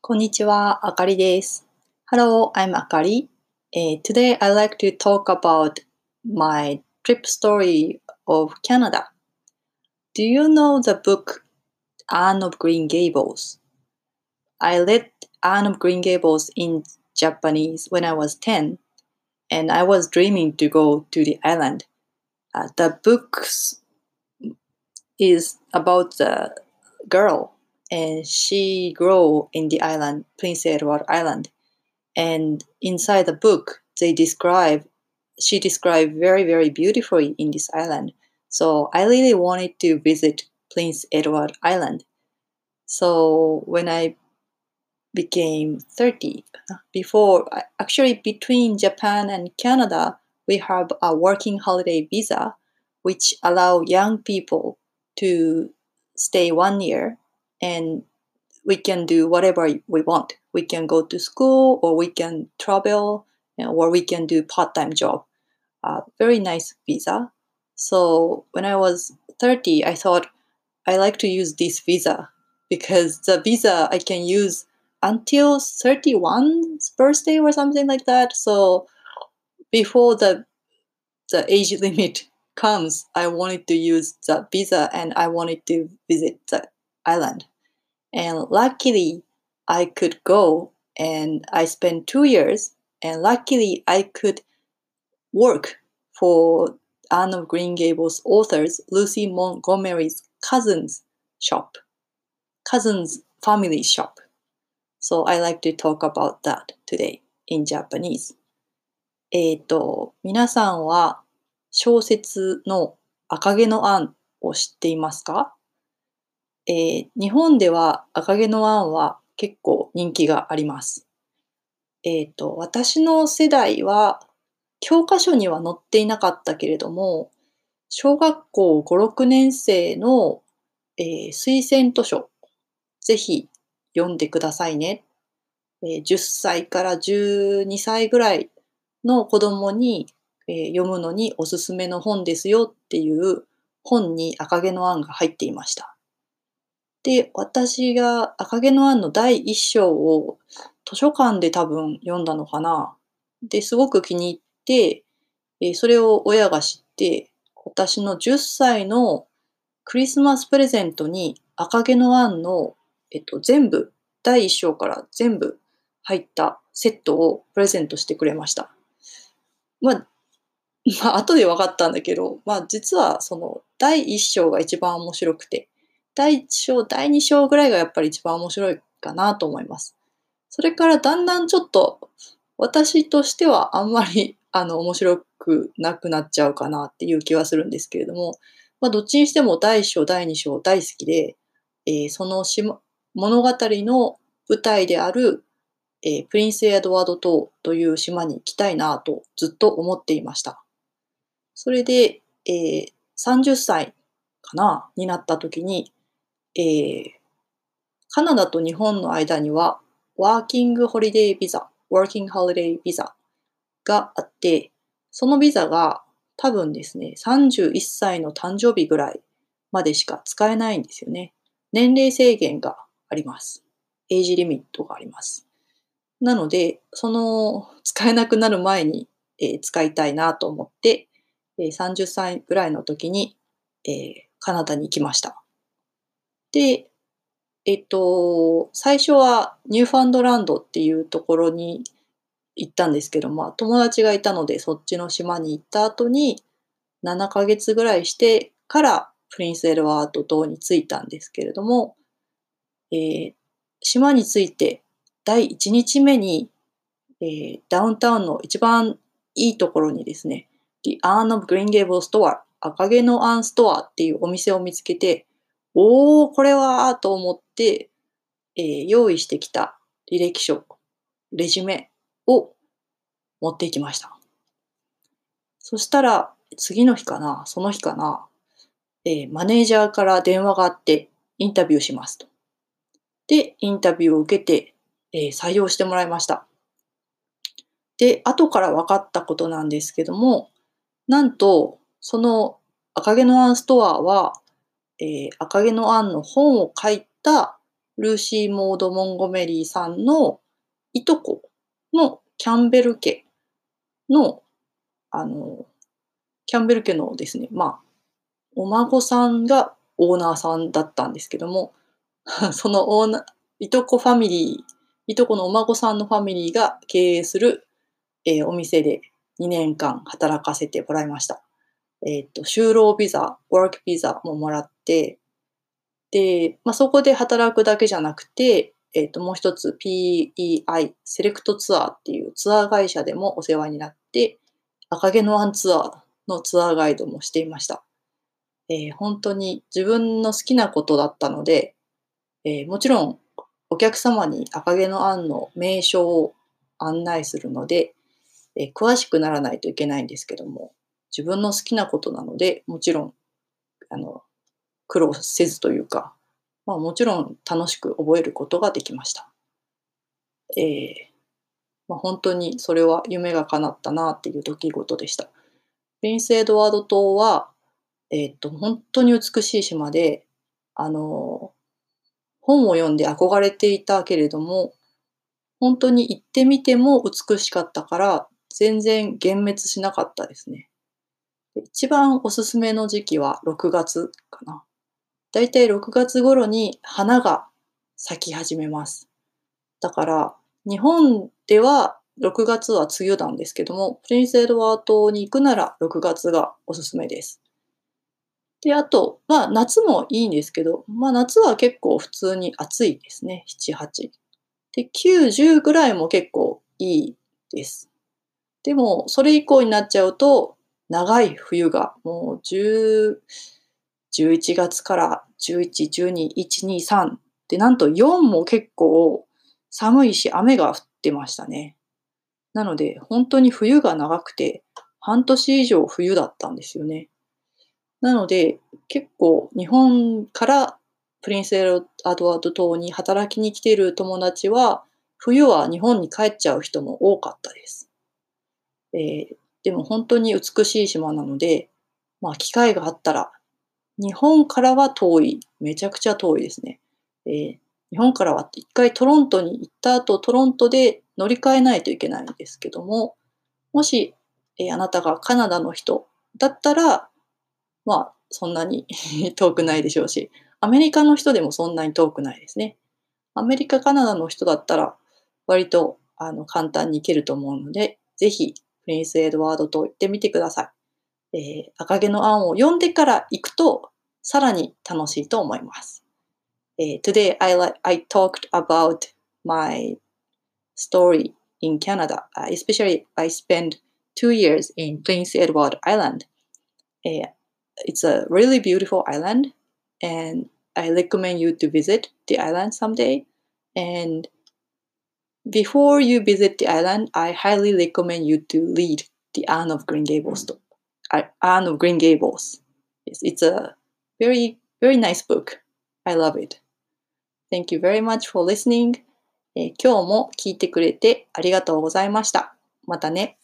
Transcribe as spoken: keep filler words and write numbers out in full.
こんにちは、あかりです。Hello, I'm Akari. Uh, today I'd like to talk about my trip story of Canada. Do you know the book Anne of Green Gables? I read Anne of Green Gables in Japanese when I was ten, and I was dreaming to go to the island. Uh, the book is about the girl, and she grew in the island, Prince Edward Island. And inside the book, they describe, she described very, very beautifully in this island. So I really wanted to visit Prince Edward Island. So when I became thirty, before, actually between Japan and Canada, we have a working holiday visa, which allow young people to stay one year and we can do whatever we want. We can go to school or we can travel or we can do part-time job. Uh, very nice visa. So when I was thirty, I thought I like to use this visa because the visa I can use until thirty-one's birthday or something like that. So before the the age limit comes, I wanted to use the visa and I wanted to visit the island. And luckily, I could go and I spent two years. And luckily, I could work for Anne of Green Gables authors Lucy Montgomery's cousin's shop, cousin's family shop. So I like to talk about that today in Japanese. えっと、皆さんは小説の赤毛のアンを知っていますか？えー日本では赤毛のアンは結構人気があります。えっと、私の世代は教科書には載っていなかったけれども、小学校ご、ろくねん生の、えー推薦図書、ぜひ読んでくださいね。えーじゅっさいからじゅうにさいぐらいの子供に、えー読むのにおすすめの本ですよっていう本に赤毛のアンが入っていました。で、私が赤毛のアンのだいいっ章を図書館で多分読んだのかな。で、すごく気に入って、えーそれを親が知って、私のじゅっさいのクリスマスプレゼントに赤毛のアンの、えっと、全部、だいいっ章から全部入ったセットをプレゼントしてくれました。まあ、まあ、後で分かったんだけど、まあ、実はそのだいいっ章が一番面白くて、だいいち章、だいに章ぐらいがやっぱり一番面白いかなと思います。それからだんだんちょっと私としてはあんまりあの面白くなくなっちゃうかなっていう気はするんですけれども、まあ、どっちにしてもだいいっ章、だいに章大好きで、えーその島物語の舞台である、えープリンスエドワード島という島に行きたいなとずっと思っていました。それで、えーさんじゅっさいかなになった時に、えーカナダと日本の間にはワーキングホリデービザ、ワーキングホリデービザがあって、そのビザが多分ですね、さんじゅういっさいの誕生日ぐらいまでしか使えないんですよね。年齢制限があります。エイジリミットがあります。なので、その使えなくなる前に、えー使いたいなと思って、えーさんじゅっさいぐらいの時に、えーカナダに行きました。で、えっと、最初はニューファンドランドっていうところに行ったんですけど、まあ、友達がいたのでそっちの島に行った後にななかげつぐらいしてからプリンスエドワード島に着いたんですけれども、えー島に着いてだいいちにちめに、えーダウンタウンの一番いいところにですね、The Anne of Green Gables Store、赤毛のアンストアっていうお店を見つけて、おー、これはと思って、えー用意してきた履歴書、レジュメを持っていきました。そしたら、次の日かな、その日かな、えーマネージャーから電話があって、インタビューしますと。で、インタビューを受けて、えー採用してもらいました。で、後から分かったことなんですけども、なんと、その赤毛のアンストアは、えー赤毛のアンの本を書いたルーシー・モード・モンゴメリーさんのいとこのキャンベル家の、あの、キャンベル家のですね、まあ、お孫さんがオーナーさんだったんですけども、そのオーナーいとこファミリーいとこのお孫さんのファミリーが経営する、えーお店でにねんかん働かせてもらいました。えっと、就労ビザ、ワークビザももらって、で、まあ、そこで働くだけじゃなくて、えっと、もう一つ ピーイーアイ、セレクトツアーっていうツアー会社でもお世話になって、赤毛のアンツアーのツアーガイドもしていました。えー本当に自分の好きなことだったので、えーもちろんお客様に赤毛のアンの名所を案内するので、えー詳しくならないといけないんですけども、自分の好きなことなので、もちろん、あの、苦労せずというか、まあ、もちろん楽しく覚えることができました。ええ、まあ、本当にそれは夢が叶ったなっていう出来事でした。プリンスエドワード島は、えっと、本当に美しい島で、あの、本を読んで憧れていたけれども、本当に行ってみても美しかったから、全然幻滅しなかったですね。で、一番おすすめの時期はろくがつかな。だいたいろくがつ頃に花が咲き始めます。だから、日本ではろくがつは梅雨なんですけども、プリンスエドワード島に行くならろくがつがおすすめです。で、あと、まあ、夏もいいんですけど、まあ、夏は結構普通に暑いですね、しち、はち。で、きゅう、じゅうぐらいも結構いいです。でも、それ以降になっちゃうと、長い冬がもうじゅう、じゅういちがつからじゅういち、じゅうに、いち、に、さんで、なんとよんも結構寒いし、雨が降ってましたね。なので、本当に冬が長くて、半年以上冬だったんですよね。なので、結構日本からプリンスエドワード島に働きに来ている友達は、冬は日本に帰っちゃう人も多かったです。えーでも本当に美しい島なので、まあ、機会があったら、日本からは遠い、めちゃくちゃ遠いですね。えー日本からは一回トロントに行った後、トロントで乗り換えないといけないんですけども、もし、えーあなたがカナダの人だったら、まあ、そんなに遠くないでしょうし、アメリカの人でもそんなに遠くないですね。アメリカ、カナダの人だったら、割とあの簡単に行けると思うので、ぜひ、プリンスエドワード島行ってみてください。えー赤毛のアンを読んでから行くと、さらに楽しいと思います。えー Today I, li- I talked about my story in Canada, uh, especially I spent two years in Prince Edward Island. Uh, it's a really beautiful island, and I recommend you to visit the island someday. And before you visit the island, I highly recommend you to read The Anne of Green Gables. uh, Anne of Green Gables. It's, it's a very, very nice book. I love it. Thank you very much for listening. えー今日も聞いてくれてありがとうございました。またね。